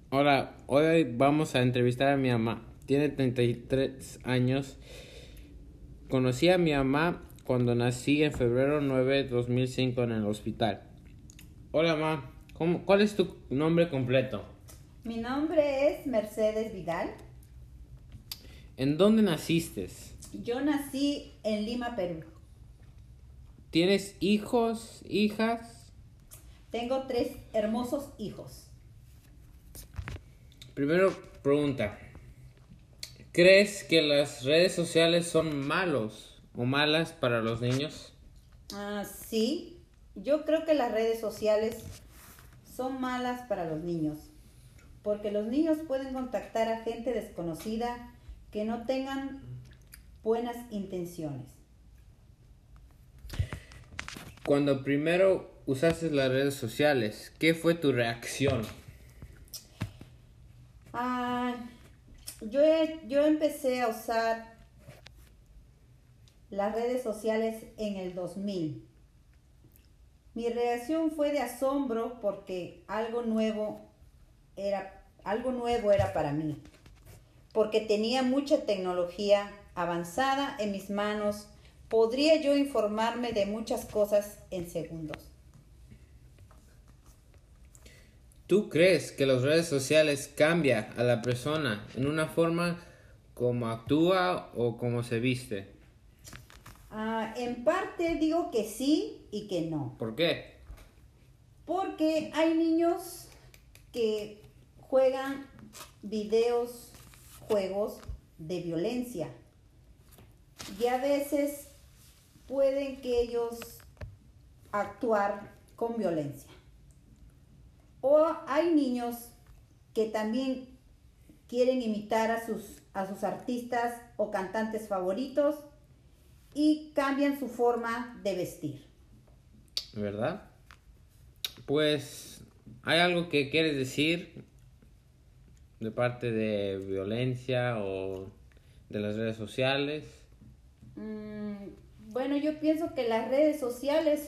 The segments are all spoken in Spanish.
Hola, hoy vamos a entrevistar a mi mamá. Tiene 33 años. Conocí a mi mamá cuando nací en febrero 9 de 2005 en el hospital. Hola, mamá. ¿Cuál es tu nombre completo? Mi nombre es Mercedes Vidal. ¿En dónde naciste? Yo nací en Lima, Perú. ¿Tienes hijos, hijas? Tengo 3 hermosos hijos. Primero pregunta. ¿Crees que las redes sociales son malos o malas para los niños? Sí, yo creo que las redes sociales son malas para los niños, porque los niños pueden contactar a gente desconocida que no tengan buenas intenciones. Cuando primero usaste las redes sociales, ¿qué fue tu reacción? Ah, yo empecé a usar las redes sociales en el 2000. Mi reacción fue de asombro porque algo nuevo era para mí, porque tenía mucha tecnología avanzada en mis manos. Podría yo informarme de muchas cosas en segundos. ¿Tú crees que las redes sociales cambian a la persona en una forma como actúa o como se viste? En parte digo que sí y que no, ¿Por qué? porque hay niños que juegan juegos de violencia, y a veces pueden que ellos actuar con violencia. O hay niños que también quieren imitar a sus artistas o cantantes favoritos y cambian su forma de vestir. ¿Verdad? Pues, ¿hay algo que quieres decir de parte de violencia o de las redes sociales? Bueno, yo pienso que las redes sociales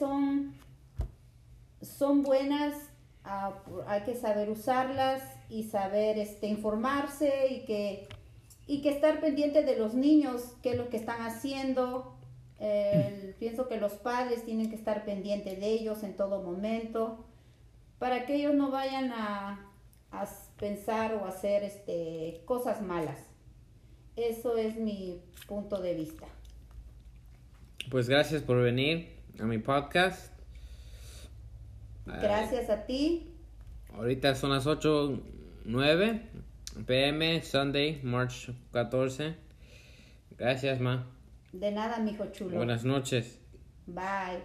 son buenas. Hay que saber usarlas y saber informarse y que estar pendiente de los niños, qué es lo que están haciendo. Pienso que los padres tienen que estar pendientes de ellos en todo momento para que ellos no vayan a pensar o hacer cosas malas. Eso es mi punto de vista. Pues gracias por venir a mi podcast. Gracias a ti. Ahorita son las 8:09 p.m. Sunday, March 14. Gracias, ma. De nada, mijo chulo. Buenas noches. Bye.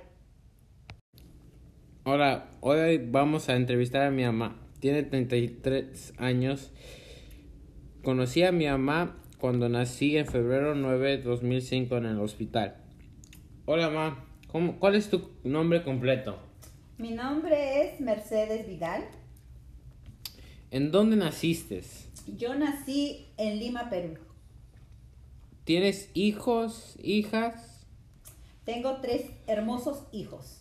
Hola, hoy vamos a entrevistar a mi mamá. Tiene 33 años. Conocí a mi mamá cuando nací en febrero 9 de 2005 en el hospital. Hola, ma. ¿Cuál es tu nombre completo? Mi nombre es Mercedes Vidal. ¿En dónde naciste? Yo nací en Lima, Perú. ¿Tienes hijos, hijas? Tengo 3 hermosos hijos.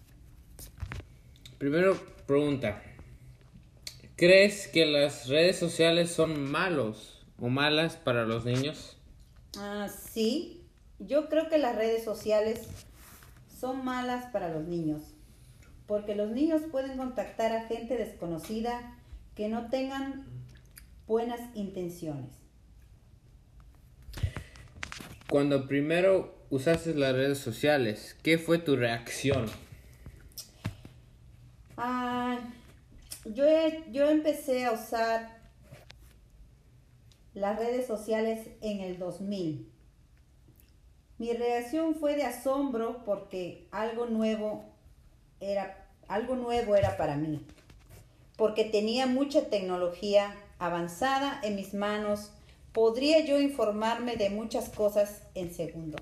Primero pregunta. ¿Crees que las redes sociales son malos o malas para los niños? Sí, yo creo que las redes sociales son malas para los niños, porque los niños pueden contactar a gente desconocida que no tengan buenas intenciones. Cuando primero usaste las redes sociales, ¿qué fue tu reacción? Yo empecé a usar las redes sociales en el 2000. Mi reacción fue de asombro porque algo nuevo era para mí, porque tenía mucha tecnología avanzada en mis manos. Podría yo informarme de muchas cosas en segundos.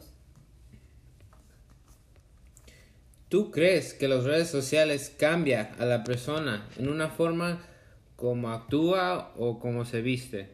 ¿Tú crees que las redes sociales cambian a la persona en una forma como actúa o como se viste?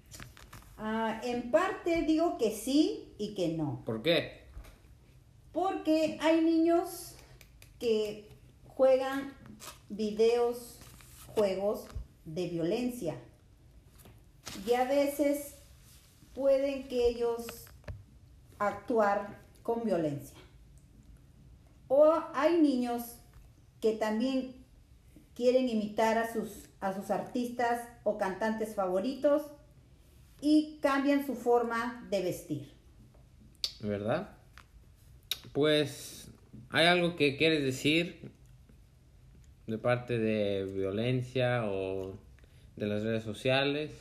En parte digo que sí y que no, ¿Por qué? porque hay niños que juegan juegos de violencia. Y a veces pueden que ellos actuar con violencia. O hay niños que también quieren imitar a sus artistas o cantantes favoritos y cambian su forma de vestir. ¿Verdad? Pues, ¿hay algo que quieres decir de parte de violencia o de las redes sociales?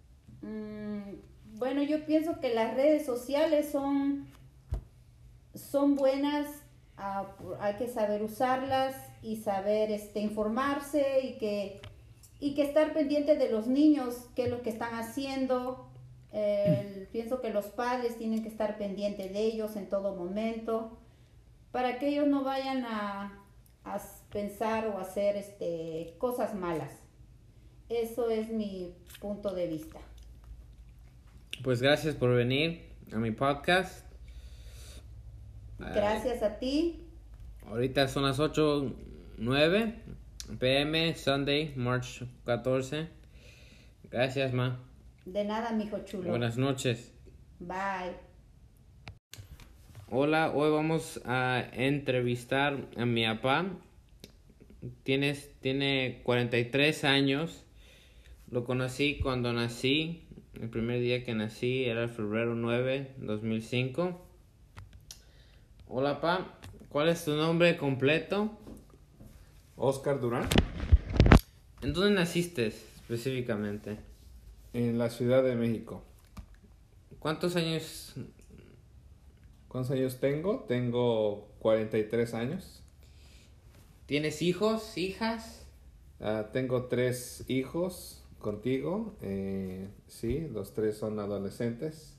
Bueno, yo pienso que las redes sociales son buenas, hay que saber usarlas y saber informarse y que estar pendiente de los niños, qué es lo que están haciendo. Pienso que los padres tienen que estar pendientes de ellos en todo momento para que ellos no vayan a pensar o hacer cosas malas. Eso es mi punto de vista. Pues gracias por venir a mi podcast. Gracias a ti. Ahorita son las 8:09 p.m. Sunday, March 14. Gracias, ma. De nada, mijo chulo. Buenas noches. Bye. Hola, hoy vamos a entrevistar a mi papá. Tiene 43 años. Lo conocí cuando nací. El primer día que nací era el febrero 9, 2005. Hola, pa. ¿Cuál es tu nombre completo? Oscar Durán, ¿En dónde naciste específicamente? en la Ciudad de México. ¿Cuántos años? ¿Cuántos años tengo? Tengo 43 años. ¿Tienes hijos, hijas? Tengo 3 hijos contigo. Sí, los 3 son adolescentes.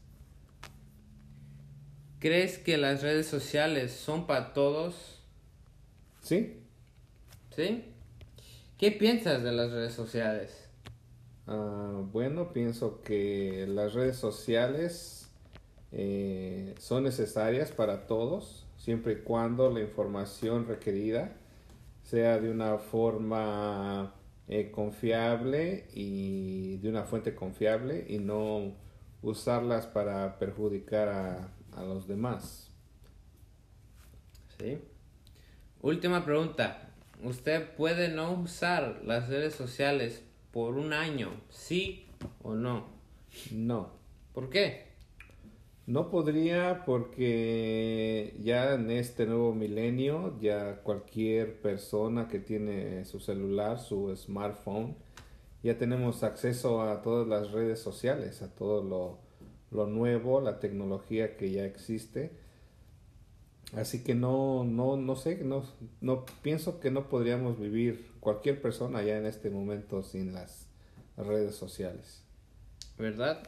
¿Crees que las redes sociales son para todos? Sí. ¿Sí? ¿Qué piensas de las redes sociales? Bueno, pienso que las redes sociales son necesarias para todos, siempre y cuando la información requerida sea de una forma confiable y de una fuente confiable y no usarlas para perjudicar a los demás. Sí. Última pregunta. ¿Usted puede no usar las redes sociales por un año? ¿Sí o no? No. ¿Por qué? No podría porque ya en este nuevo milenio, ya cualquier persona que tiene su celular, su smartphone, ya tenemos acceso a todas las redes sociales, a todo lo nuevo, la tecnología que ya existe. Así que no sé, no pienso que no podríamos vivir cualquier persona ya en este momento sin las redes sociales. ¿Verdad?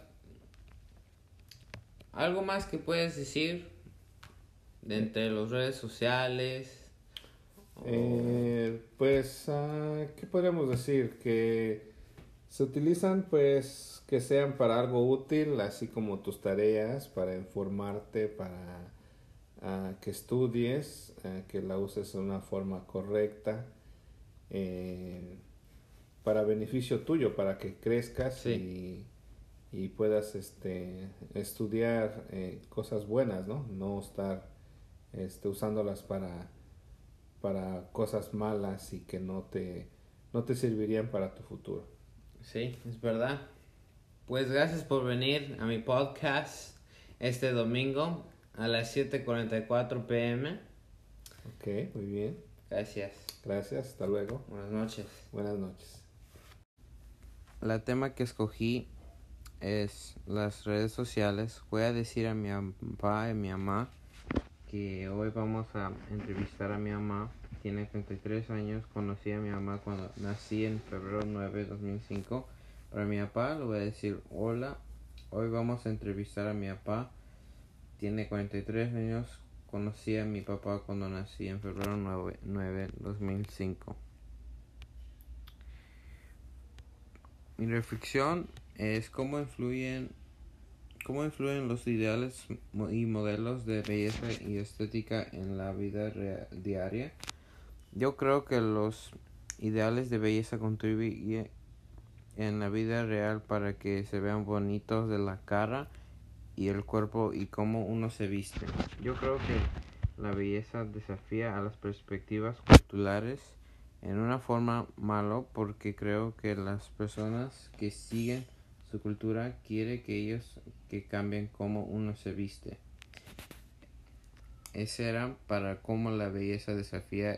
¿Algo más que puedes decir de entre las redes sociales? Pues, ¿qué podríamos decir? Que se utilizan pues que sean para algo útil, así como tus tareas, para informarte, para que estudies, que la uses de una forma correcta, para beneficio tuyo, para que crezcas Sí. y puedas estudiar cosas buenas, ¿no? No estar usándolas para cosas malas y que no te servirían para tu futuro. Sí, es verdad. Pues gracias por venir a mi podcast este domingo a las 7:44 p.m. Ok, muy bien. Gracias. Gracias, hasta luego. Buenas noches. Buenas noches. El tema que escogí es las redes sociales. Voy a decir a mi papá y a mi mamá que hoy vamos a entrevistar a mi mamá. Tiene 33 años. Conocí a mi mamá cuando nací en febrero 9 de 2005. Para mi papá le voy a decir hola. Hoy vamos a entrevistar a mi papá. Tiene 43 años. Conocí a mi papá cuando nací en febrero 9 de 2005. Mi reflexión es cómo influyen los ideales y modelos de belleza y estética en la vida diaria. Yo creo que los ideales de belleza en la vida real para que se vean bonitos de la cara y el cuerpo y cómo uno se viste. Yo creo que la belleza desafía a las perspectivas culturales en una forma malo, porque creo que las personas que siguen su cultura quieren que ellos que cambien cómo uno se viste. Ese era para cómo la belleza desafía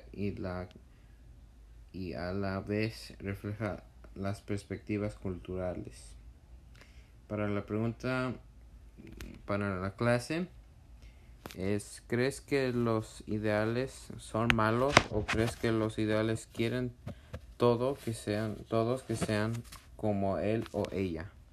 y a la vez refleja las perspectivas culturales. Para la pregunta para la clase ¿crees que los ideales son malos o crees que los ideales quieren todos que sean como él o ella?